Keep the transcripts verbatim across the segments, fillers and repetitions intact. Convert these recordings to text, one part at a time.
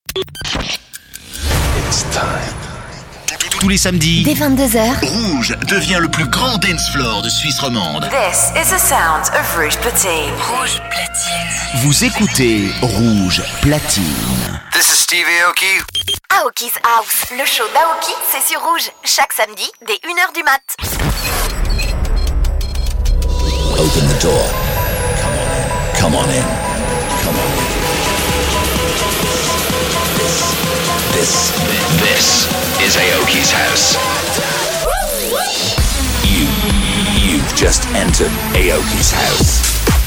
It's time. Tous les samedis, dès vingt-deux heures, Rouge devient le plus grand dance floor de Suisse romande. This is the sound of Rouge Platine. Rouge Platine. vous écoutez Rouge Platine. This is Steve Aoki. Aoki's House, le show d'Aoki, c'est sur Rouge, chaque samedi, dès une heure du mat. Open the door. Come on in. Come on in. Come on in. This, this, this is Aoki's house. You, you've just entered Aoki's house.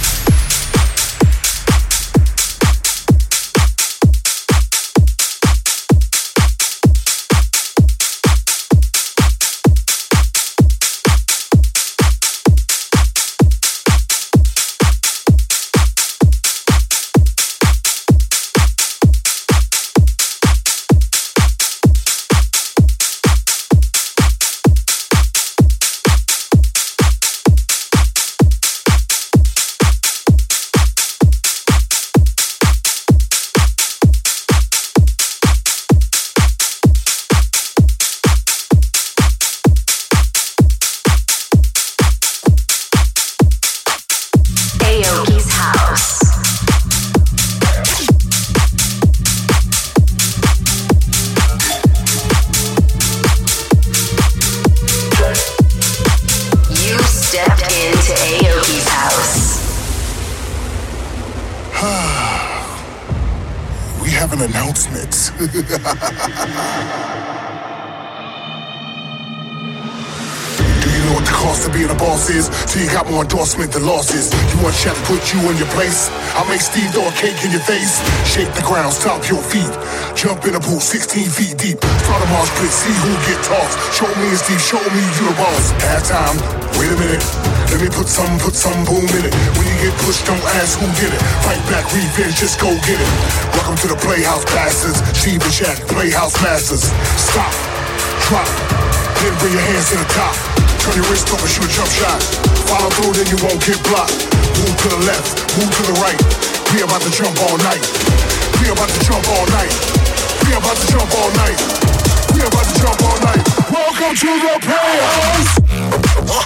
Till you got more endorsement than losses. You want Chef to put you in your place? I'll make Steve throw a cake in your face. Shake the ground, stomp your feet. Jump in a pool sixteen feet deep. Start a march pit, see who get tossed. Show me and Steve, show me you the boss. Halftime, wait a minute. Let me put some, put some boom in it. When you get pushed, don't ask who did it. Fight back, revenge, just go get it. Welcome to the Playhouse Bastards. Steve and Shaq, Playhouse Masters. Stop, drop, then bring your hands to the top. Turn your wrist over, shoot a jump shot. Follow through, then you won't get blocked. Move to the left, move to the right. We about to jump all night. We about to jump all night. We about to jump all night. We about to jump all night. Welcome to the Playhouse.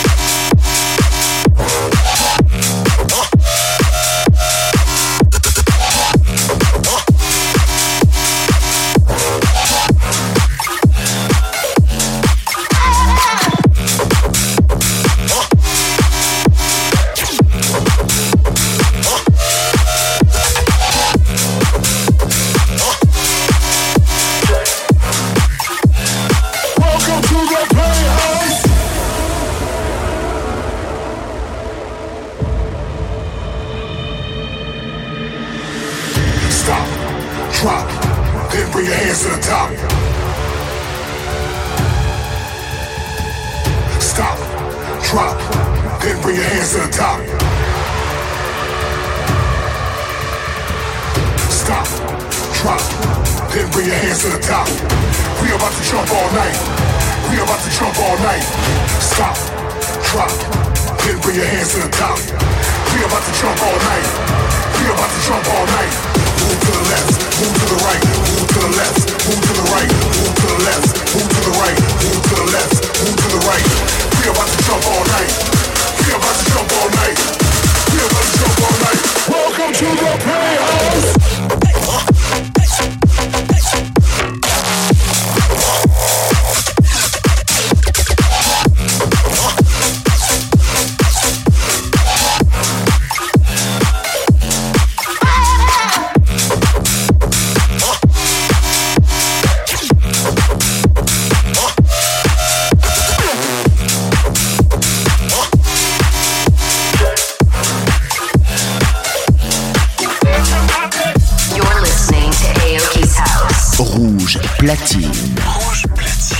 Platine. Rouge Platine.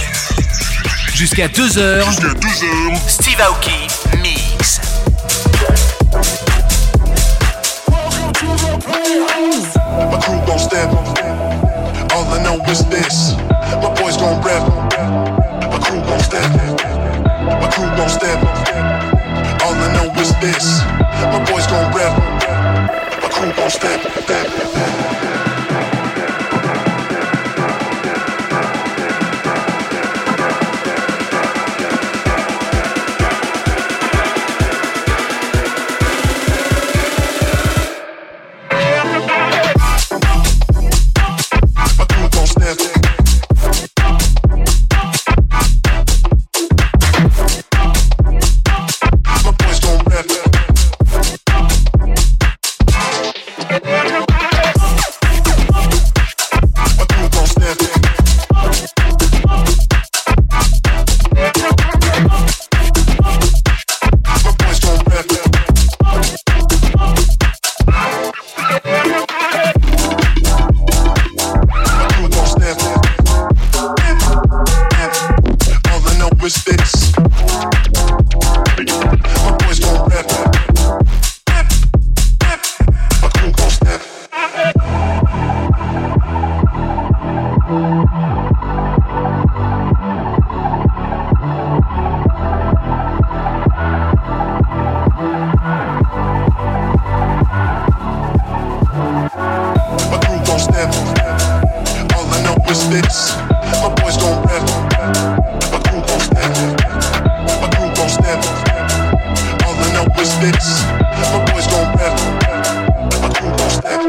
Jusqu'à deux heures. Jusqu'à deux heures. Steve Aoki Mix. My crew gon' step. All I know is this. My boys gon' rep. My crew gon' step. My crew gon' step. All I know is this. My boys gon' rep. My crew gon' step. step, step. step. All I know is this. My boys gon' rap. My crew gon' step. My crew gon' step. All I know is this. My boys gon' rap. My crew gon' step.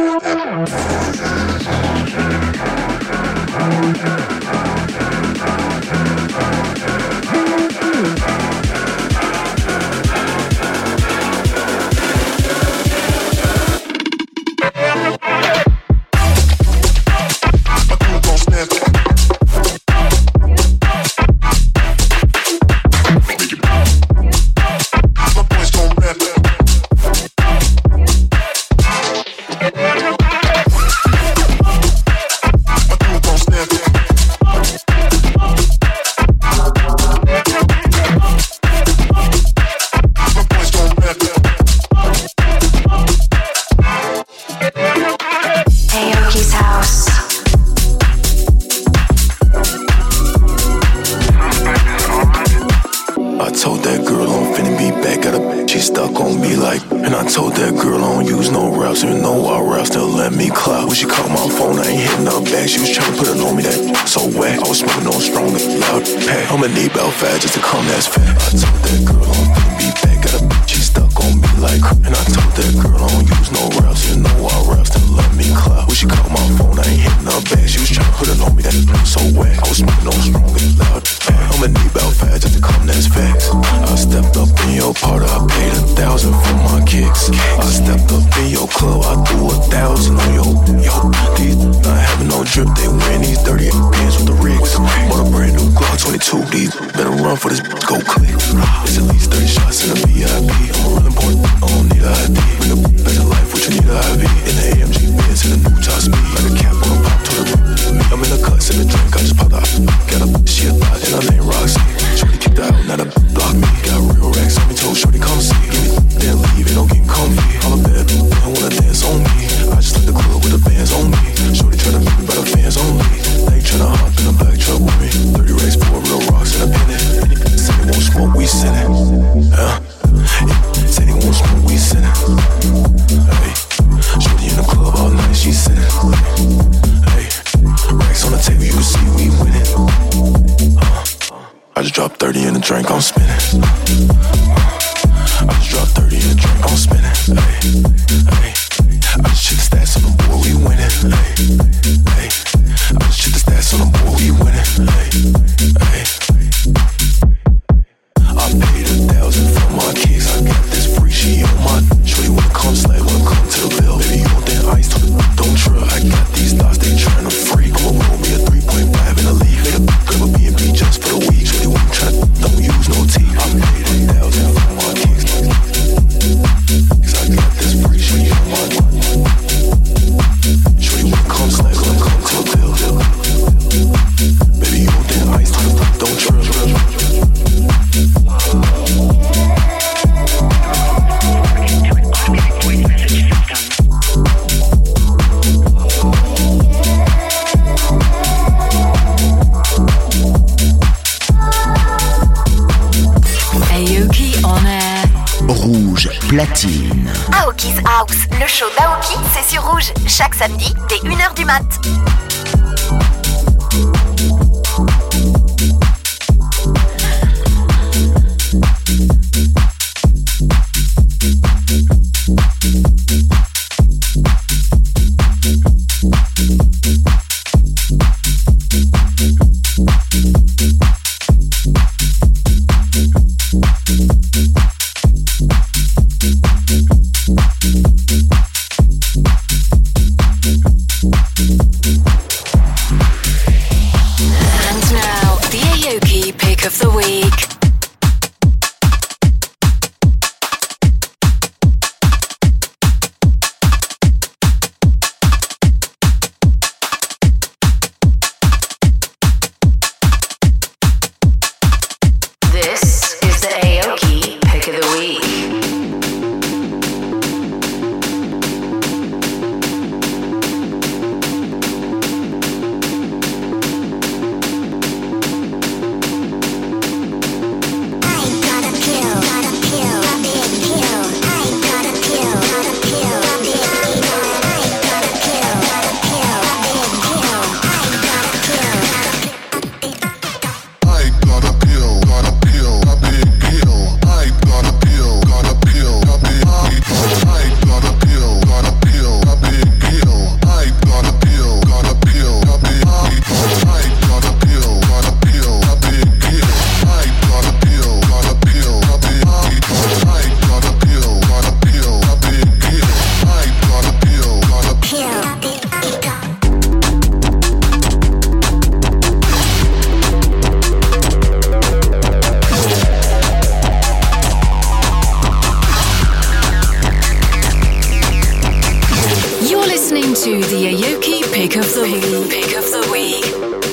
Platine. Aoki's House, le show d'Aoki, c'est sur Rouge, chaque samedi dès une heure du mat. you. Pick of the week.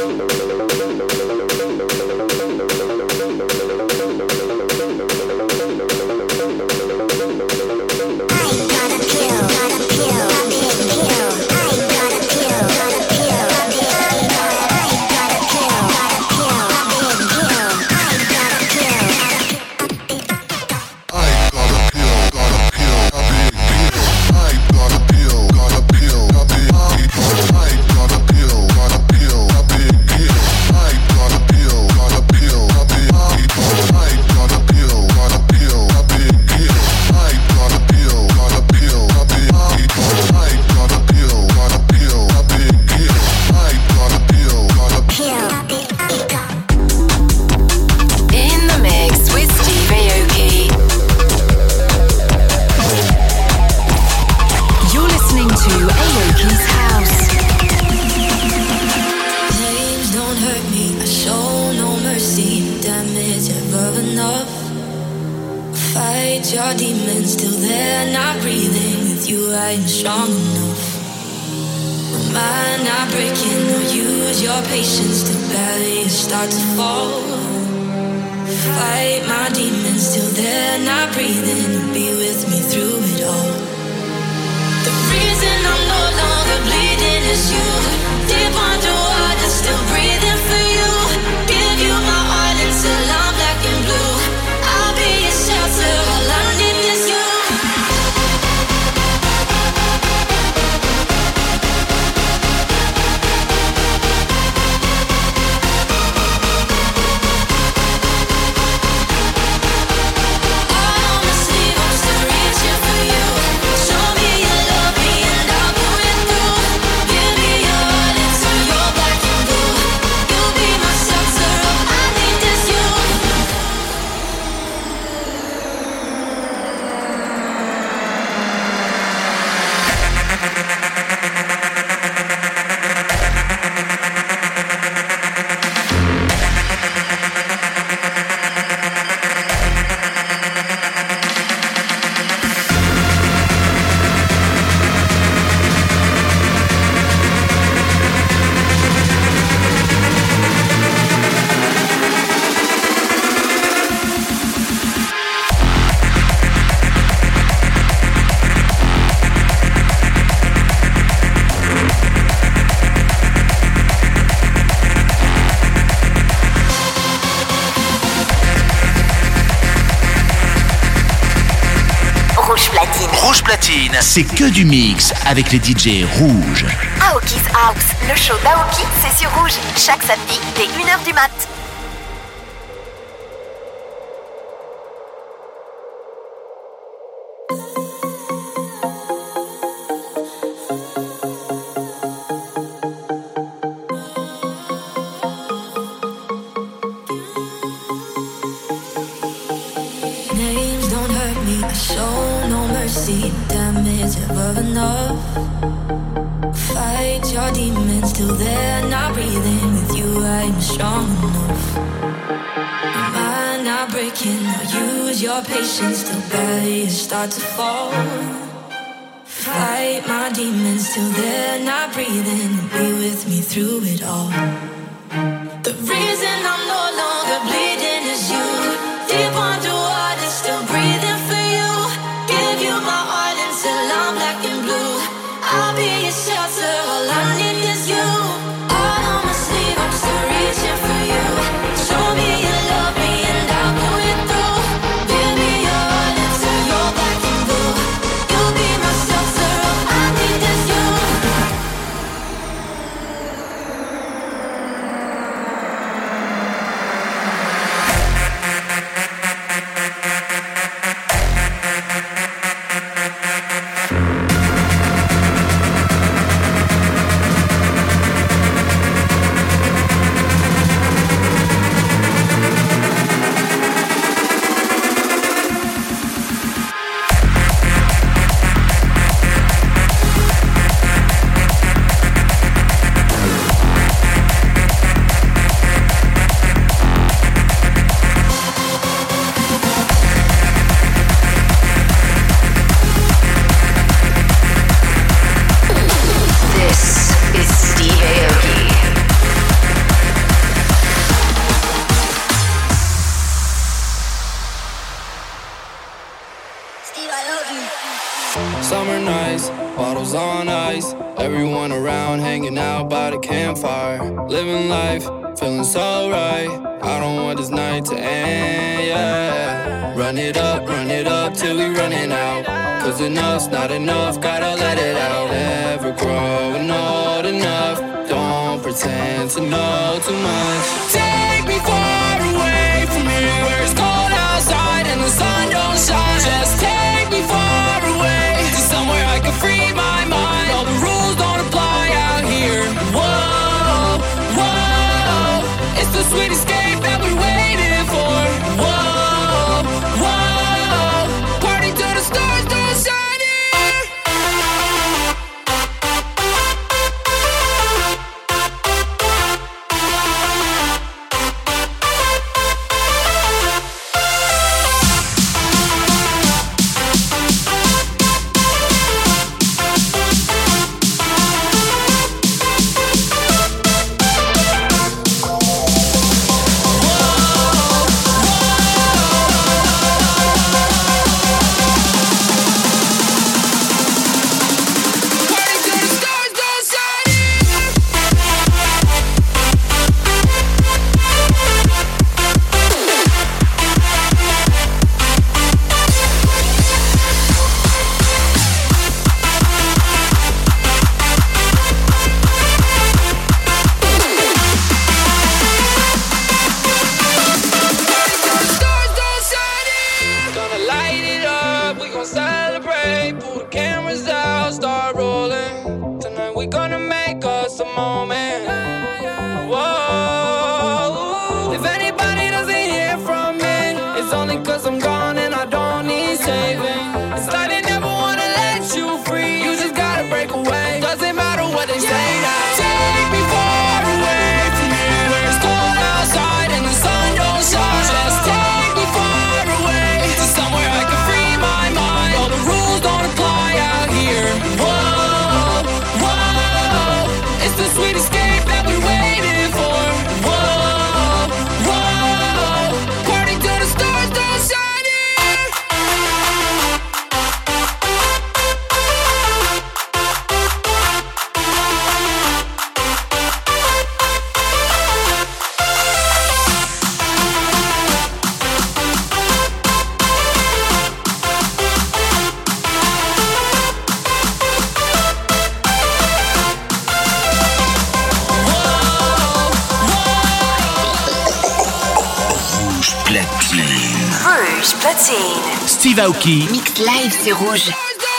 C'est que du mix avec les D J rouges. Aoki's House, le show d'Aoki, c'est sur Rouge, chaque samedi dès une heure du mat. Patience till barriers start to fall. Fight my demons till they're not breathing. Be with me through it all. The reason I'm no longer bleeding is you. Deep underwater, still breathing for you. Give you my heart until I'm black and blue. I'll be your shelter, all I need is you. Out on my sleeve, I'm still reaching for you. Show me you love me and I'll go it through. Everyone around hanging out by the campfire, living life, feeling so right. I don't want this night to end, yeah. Run it up, run it up till we running out. Cause enough's not enough, gotta let it out. Never growing old enough, don't pretend to know too much. Take me far away from here, where it's cold outside and the sun don't shine. Just take me far away to somewhere I can free my mind. All the rules don't apply out here. Whoa, whoa, it's the sweet escape that we're waiting for. Whoa, whoa, party till the stars don't shine. Steve Aoki. Mix live, c'est Rouge.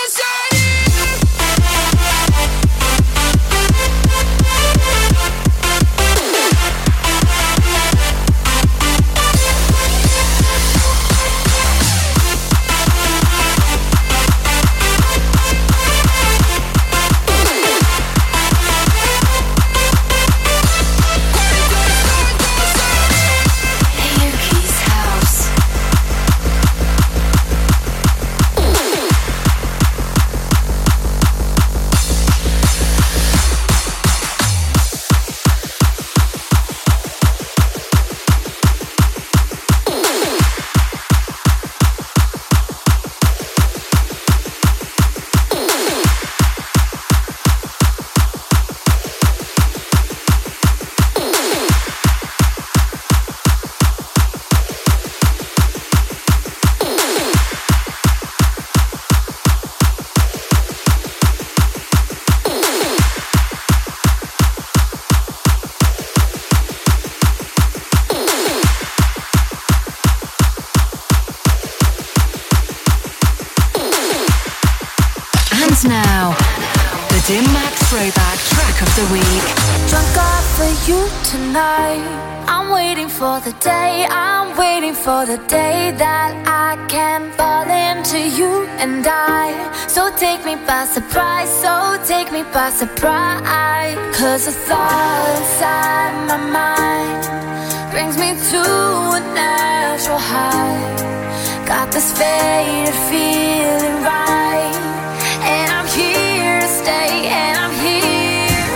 Now, the Dim Mak Throwback Track of the Week. Drunk up for you tonight. I'm waiting for the day, I'm waiting for the day that I can fall into you and I. So take me by surprise, so take me by surprise. Cause the thought inside my mind brings me to a natural high. Got this faded feeling right. And I'm here to stay, and I'm here.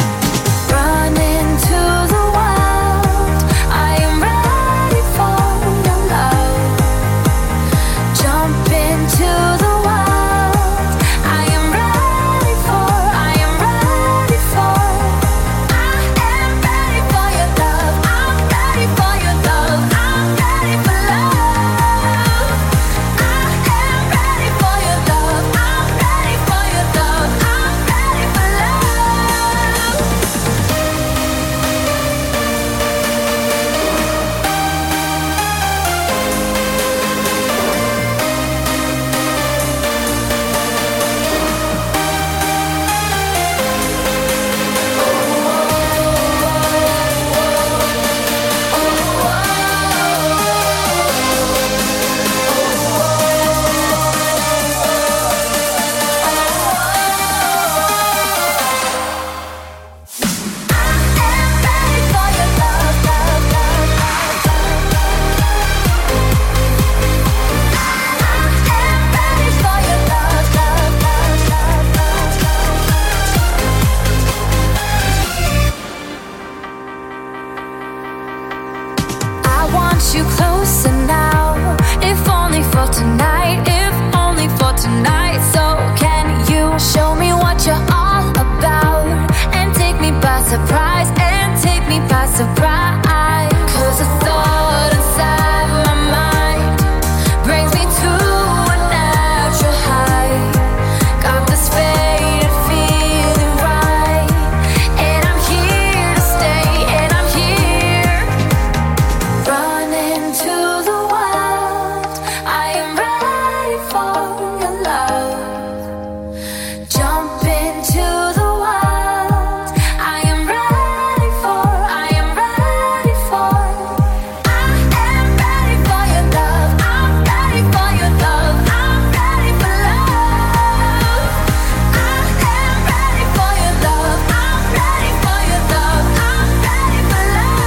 Run into the wild. I am ready for your love. Jump into the wild. I am ready for, I am ready. surprise and take me by surprise. 'Cause the thought inside my mind brings me to a natural high. Got this faded feeling right, and I'm here to stay, and I'm here. Running to the wild, I am ready for your love. Jump into the wild, I am ready for, I am ready for. I am ready for your love, I'm ready for your love, I'm ready for love. I am ready for your love, I'm ready for your love, I'm ready for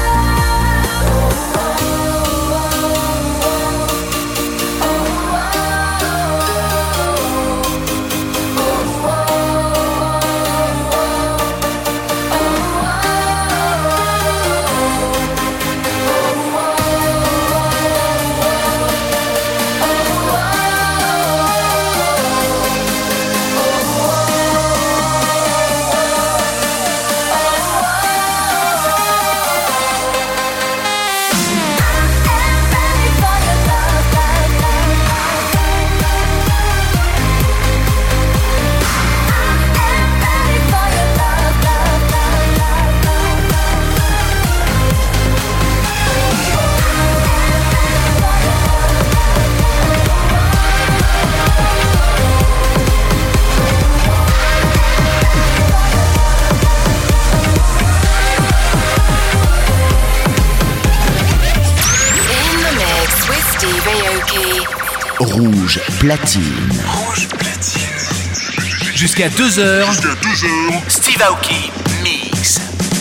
Rouge platine. Rouge platine. Jusqu'à deux heures. Jusqu'à deux heures. Steve Aoki mix.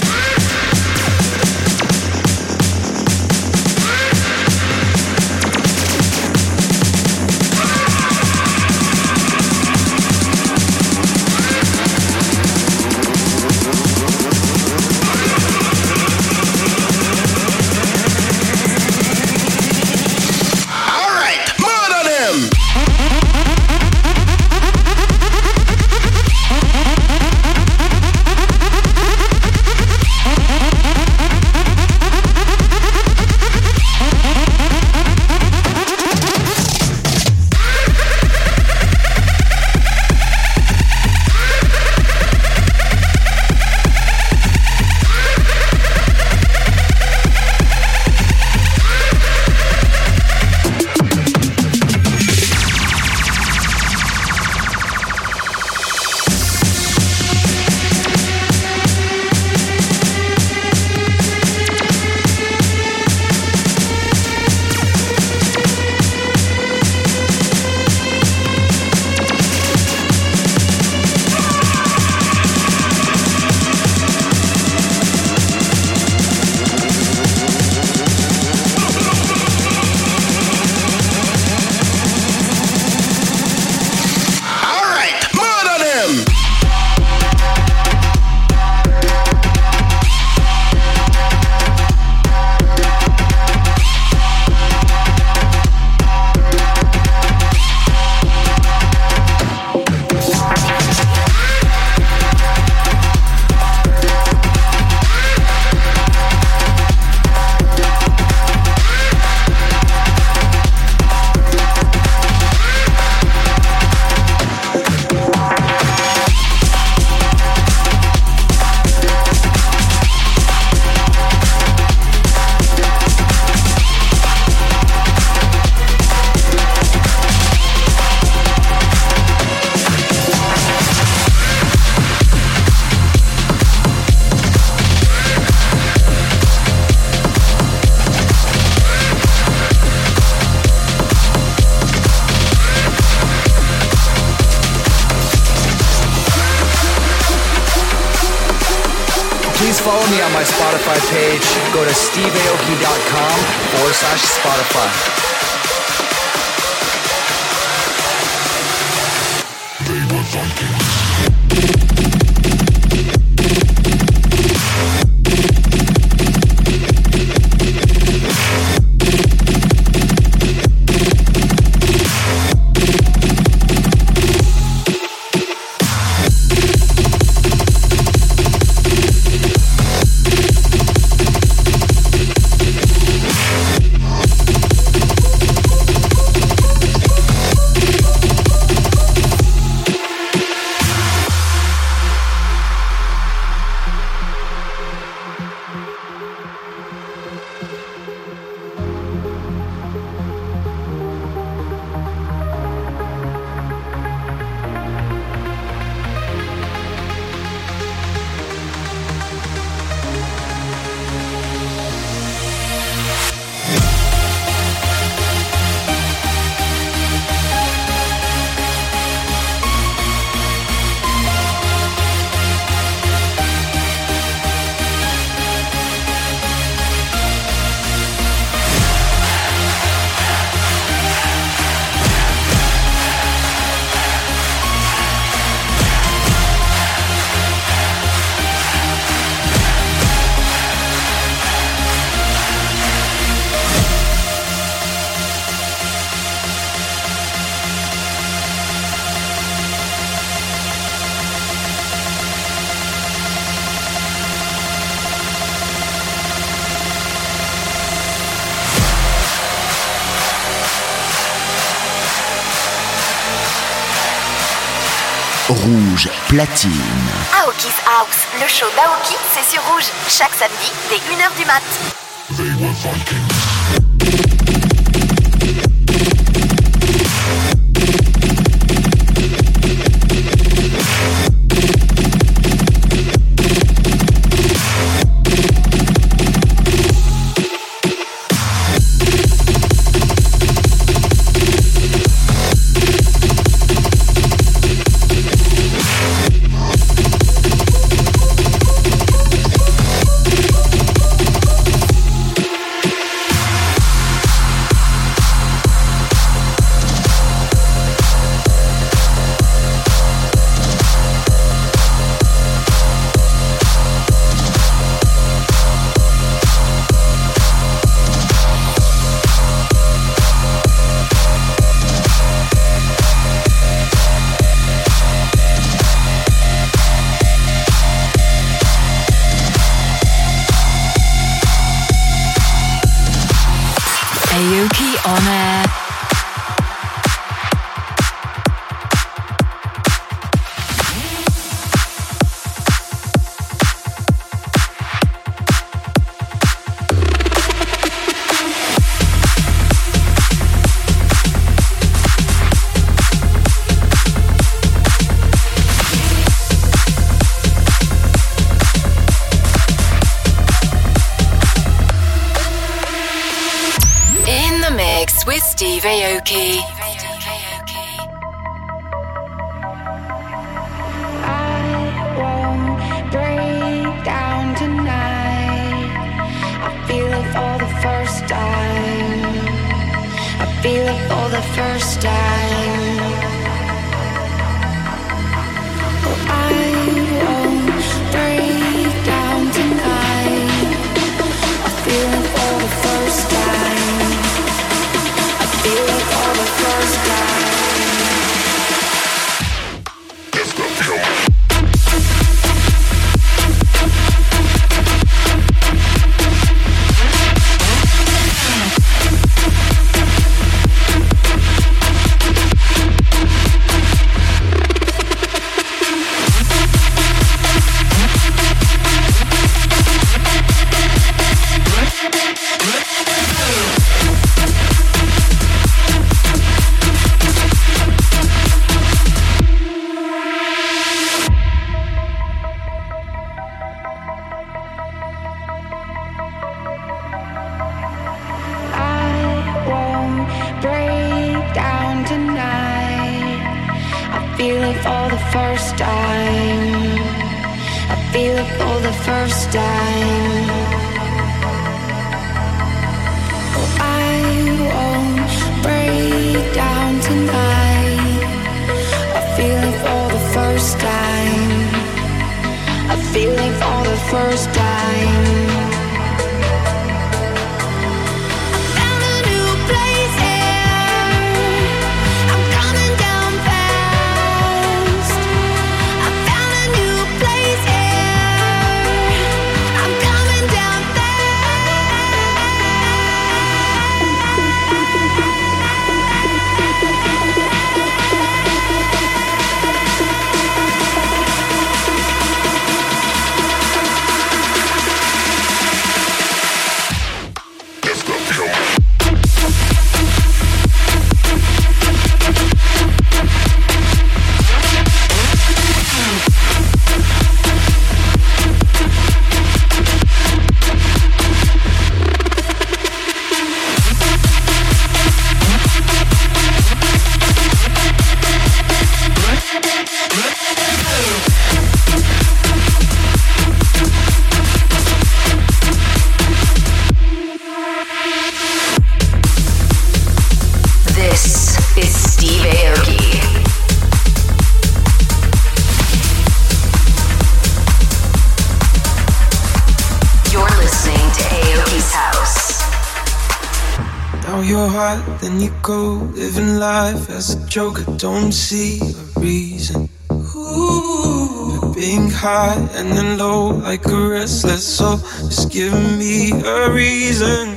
Follow me on my Spotify page. Go to steve aoki dot com forward slash Spotify. They were funky. Rouge platine. Aoki's House, le show d'Aoki, c'est sur Rouge, chaque samedi dès une heure du mat. They were Vikings. Aoki on air. With Steve Aoki. I won't break down tonight. I feel it for the first time. I feel it for the first time. Oh, I won't break down tonight. I feel it for the first time. Feel it for the first time. Let's go, come on. Then you go living life as a joke. I don't see a reason. Ooh, being high and then low like a restless soul. Just give me a reason.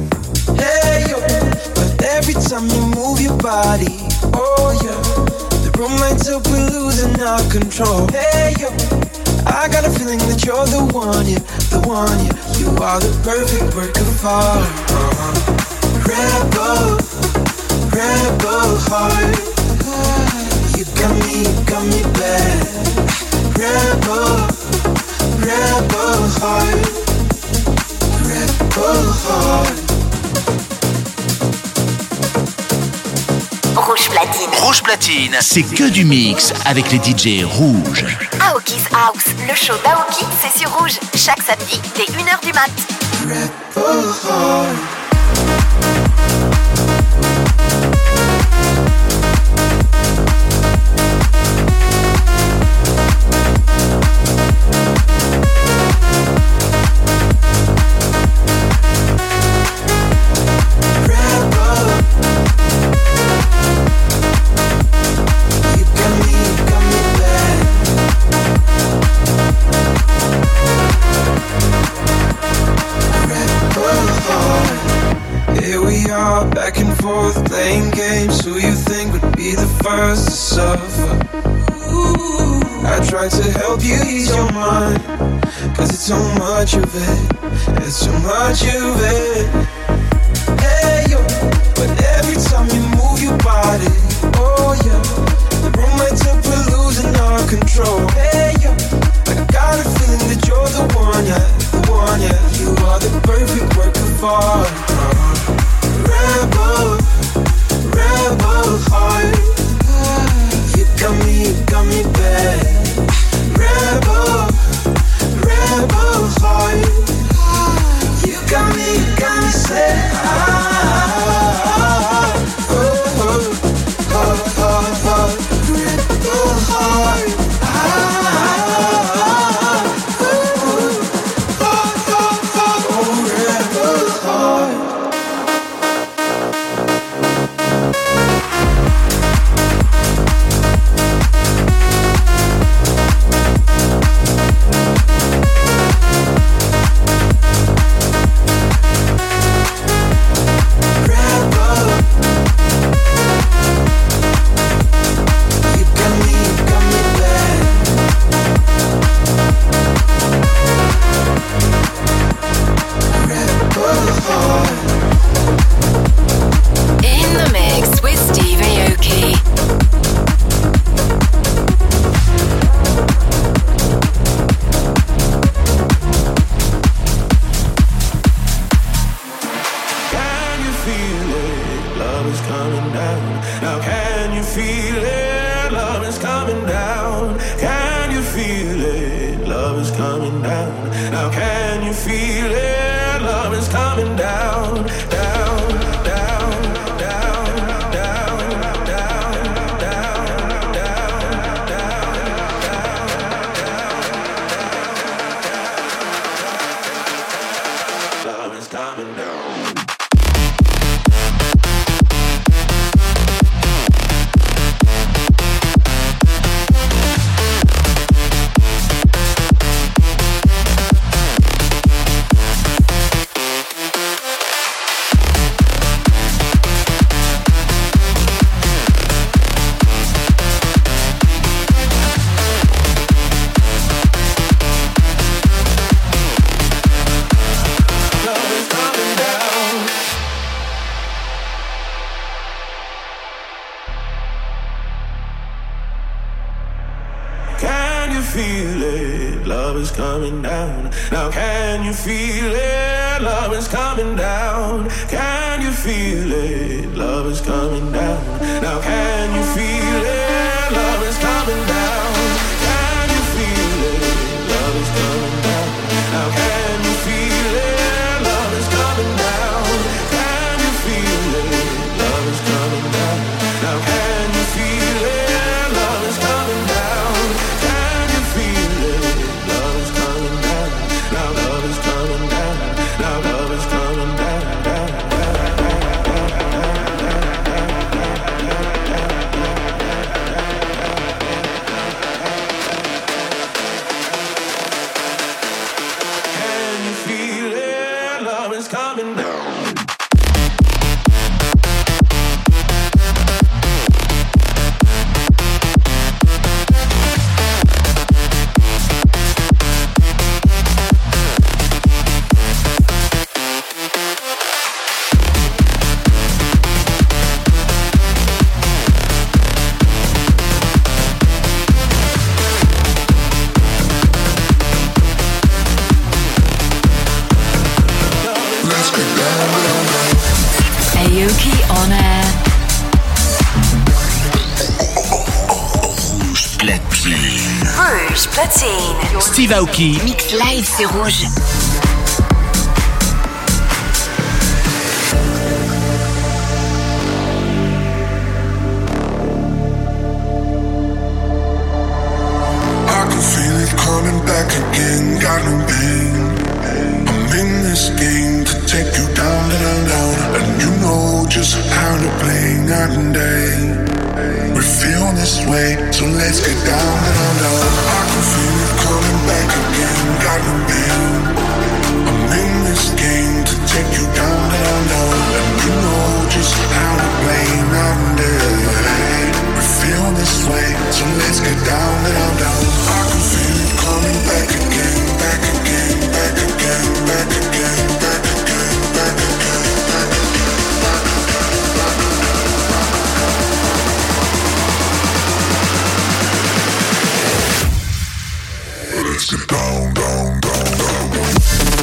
Hey yo, but every time you move your body, oh yeah, the room lights up, we're losing our control. Hey yo, I got a feeling that you're the one, yeah, the one, yeah. You are the perfect work of art. Uh-huh. Rebel, rebel heart. You got me, you got me bad. Rebel, rebel heart. Rebel heart. Rouge Platine. Rouge Platine, c'est que du mix avec les D J rouges. Aoki's House, le show d'Aoki, c'est sur Rouge. Chaque samedi, dès une heure du mat. Rebel heart. Playing games, who you think would be the first to suffer? Ooh, I tried to help you ease your mind, cause it's so much of it, it's so much of it. Hey yo, but every time you move your body, oh yeah, the room lights up, we're losing our control. Hey yo, I got a feeling that you're the one, yeah, the one, yeah. You are the perfect work of art. Uh-huh. Rebel, rebel heart. You got me, you got me bad. Rebel, rebel heart. You got me, you got me sad. Oh, oh, oh, oh, oh. Rebel heart. feel it? Love is coming down. Now can you feel it? Love is coming down. Can you feel it? Love is coming down. Now can you feel it? Love is coming down. Can you feel it? Love is coming down. Now can you feel it? Love is coming down. Can you feel it? Love is coming down. Now can you feel it? Love is coming down. Can you feel it? Love is coming down. Now love is coming down. Now love is coming down. Aoki on air. Rouge platine. Rouge platine. Steve Aoki. Mix live, c'est rouge. Coming back again, got no pain. I'm in this game to take you down, down, down. And you know just how to play night and day. We feel this way, so let's get down, down, down. I can feel it coming back again, got no pain. I'm in this game to take you down, down, down. And you know just how to play night and day. We feel this way, so let's get down, down, down. I can feel it coming back again, back again, back again, back again, back again, back again, back again. Let's get down, down, down, down, down.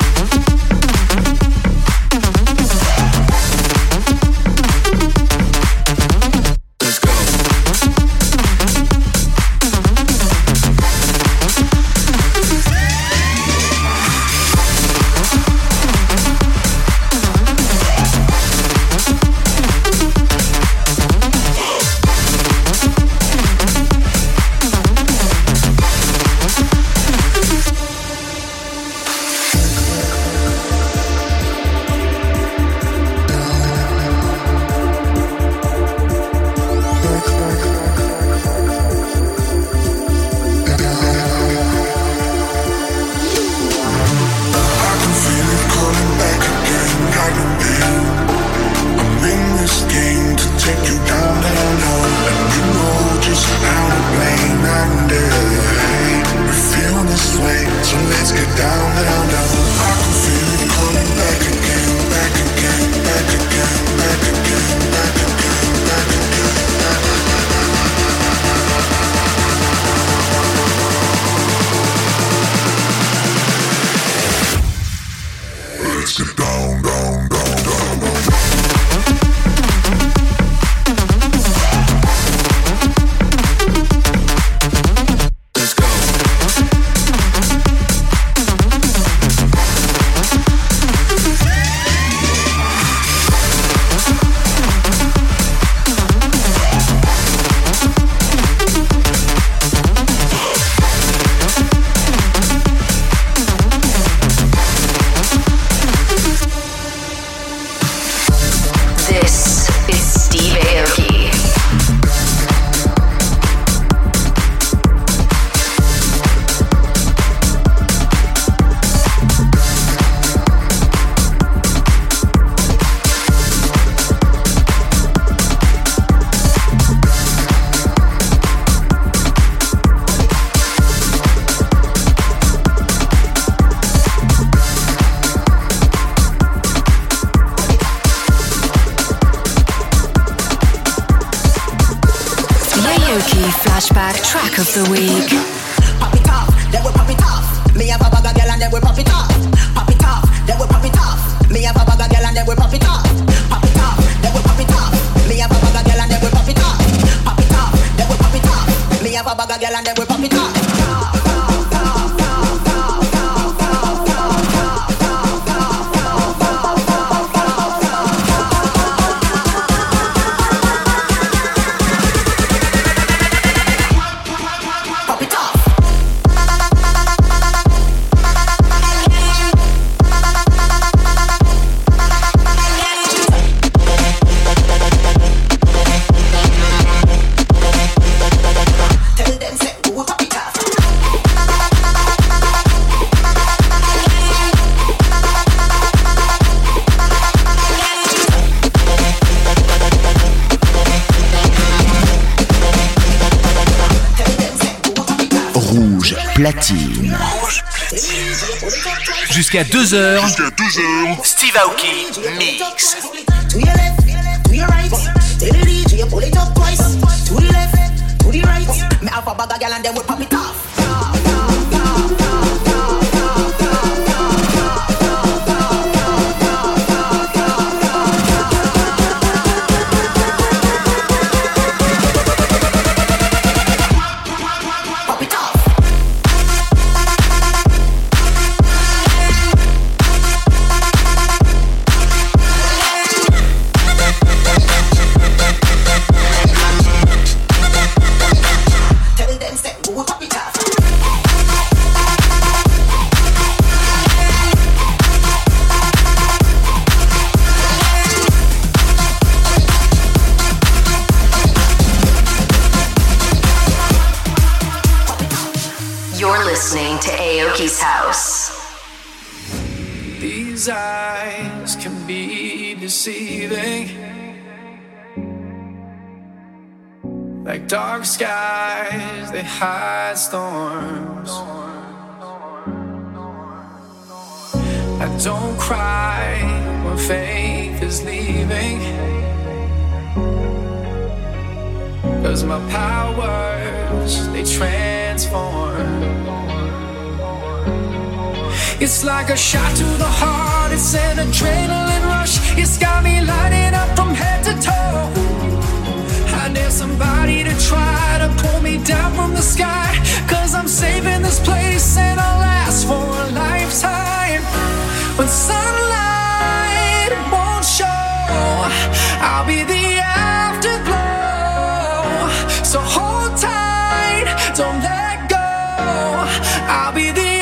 Track of the week. Pop it off, then we pop it off. Me have a bag of girl and then we pop it off. Pop it off, then we pop it off. Me have a bag of girl and then we pop it off. Pop it off, then we pop it off. Me have a bag of girl and then we pop it off. Pop it off, then we pop it off. Me have a bag of girl and then we pop it off. Platine. Jusqu'à deux heures. Jusqu'à deux heures. Steve Aoki Mix. To your left, to your right. Tell the D J pull it up twice. To the left, to the right. Me have a bag of girl and then we pop it off. Aoki's house. These eyes can be deceiving, like dark skies, they hide storms. I don't cry when faith is leaving, 'cause my powers, they transform. It's like a shot to the heart, it's an adrenaline rush. It's got me lighting up from head to toe. I need somebody to try to pull me down from the sky, 'cause I'm saving this place and I'll last for a lifetime. When sunlight won't show, I'll be the afterglow. So hold tight, don't let go. I'll be the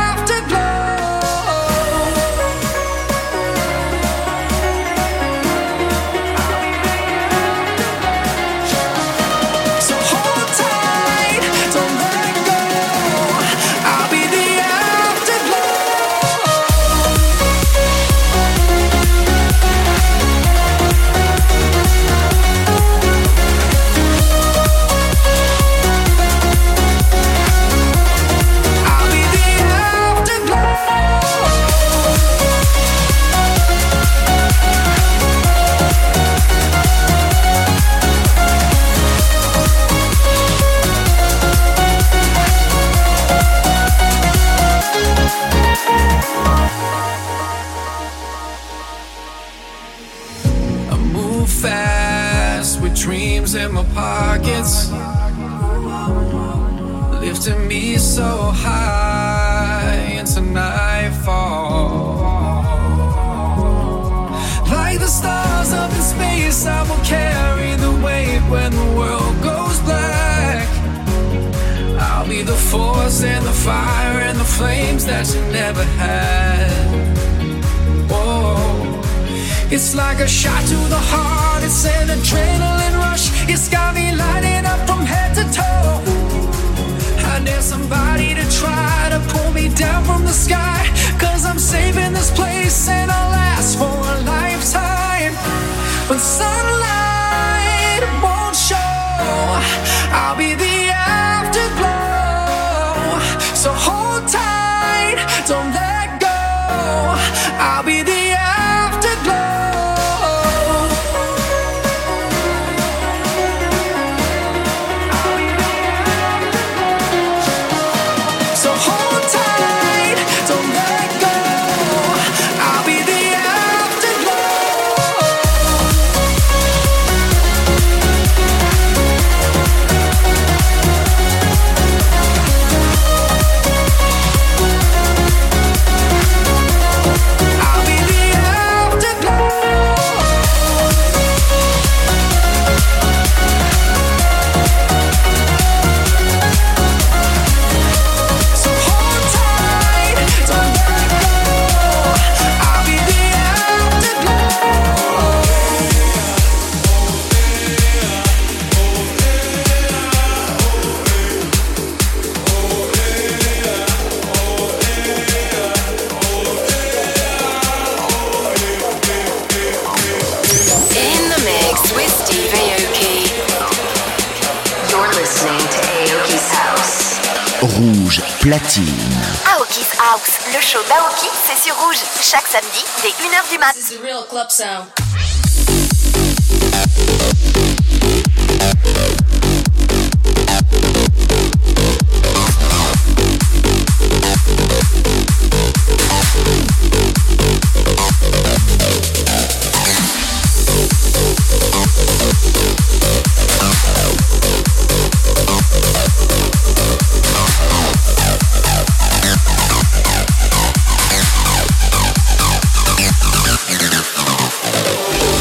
in my pockets, lifting me so high into nightfall. Like the stars up in space, I will carry the weight when the world goes black. I'll be the force and the fire and the flames that you never had. Whoa. It's like a shot to the heart, it's an adrenaline rush. It's got me lighting up from head to toe. I need somebody to try to pull me down from the sky, 'cause I'm saving this place and I'll last for a lifetime. When sunlight won't show, I'll be the afterglow. So hold tight, don't let go. I'll be the afterglow. Rouge Platine. Aoki's House, le show d'Aoki, c'est sur Rouge, chaque samedi dès une heure du mat. This is the real club sound. We'll be right back.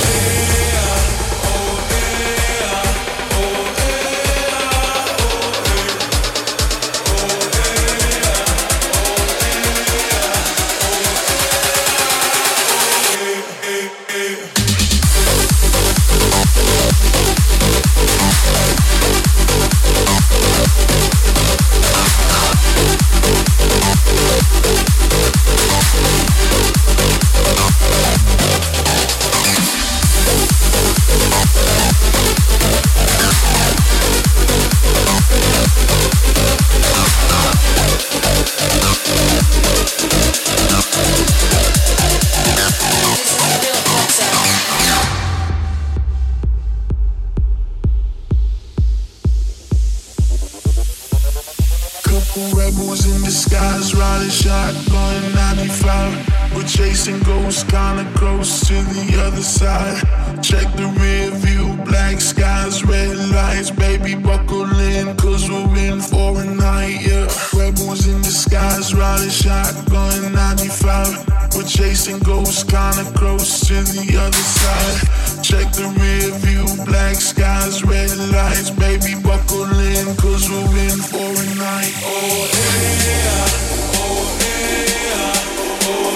We're chasing ghosts, kinda close to the other side. Check the rear view, black skies, red lights. Baby, buckle in, cause we're in for a night, yeah. Rebels in disguise, riding shotgun ninety-five. We're chasing ghosts, kinda close to the other side. Check the rear view, black skies, red lights. Baby, buckle in, cause we're in for a night. Oh yeah, oh yeah, oh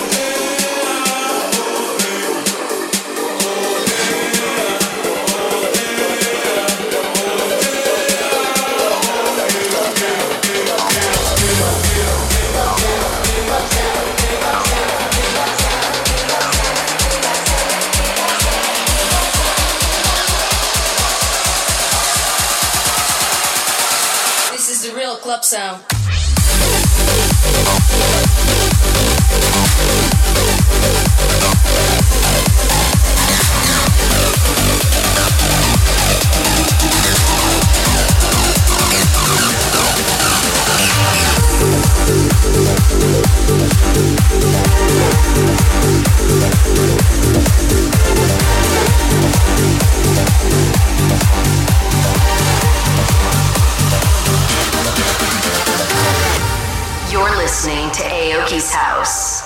club sound. You're listening to Aoki's House.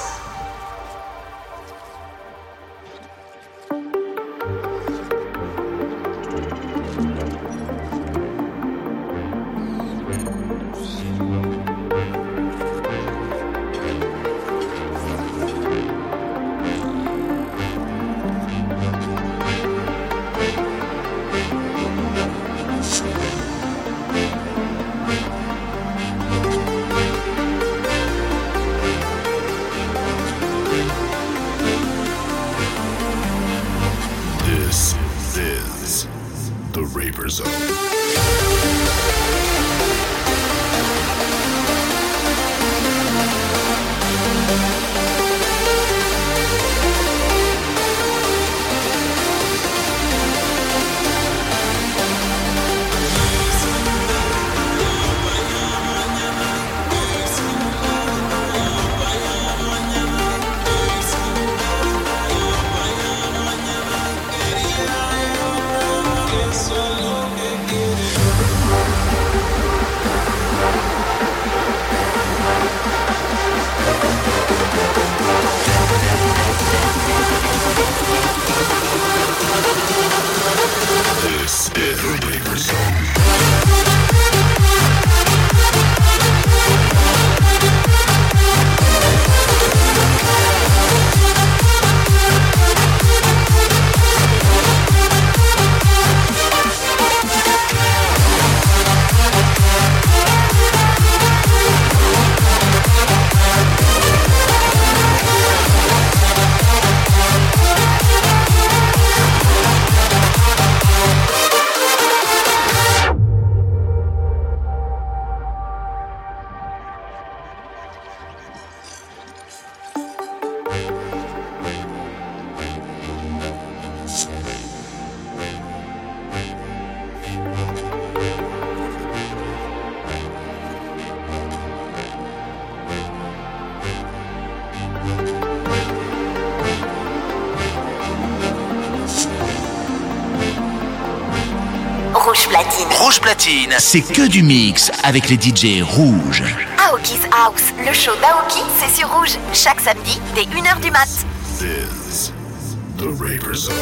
Rouge Platine. Rouge Platine, c'est que du mix avec les D J rouges. Aoki's House, le show d'Aoki, c'est sur Rouge, chaque samedi dès une heure du mat. This, the Raver Zone.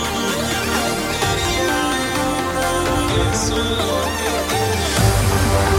So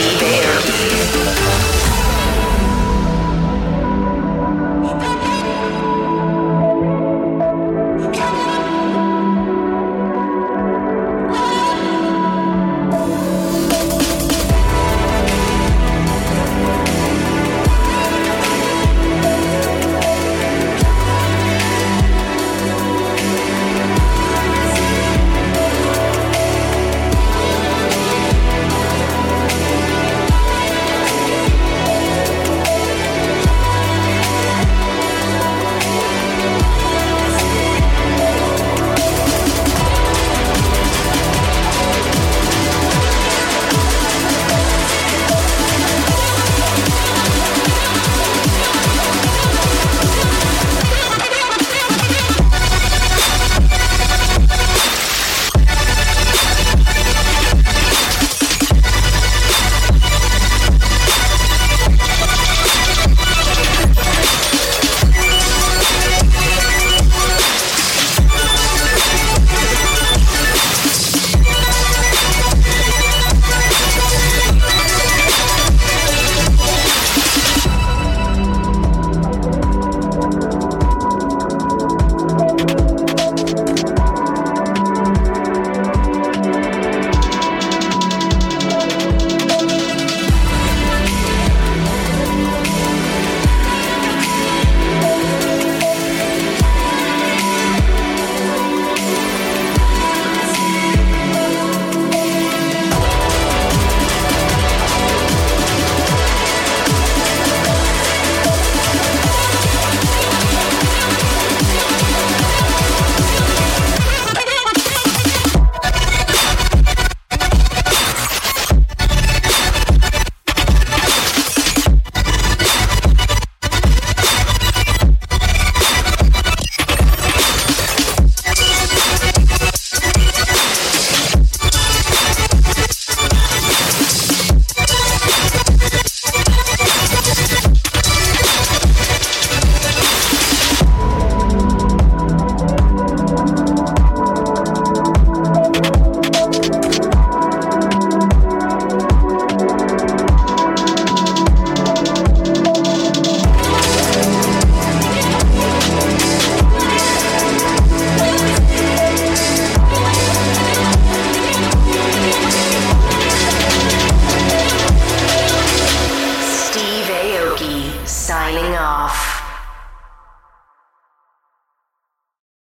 This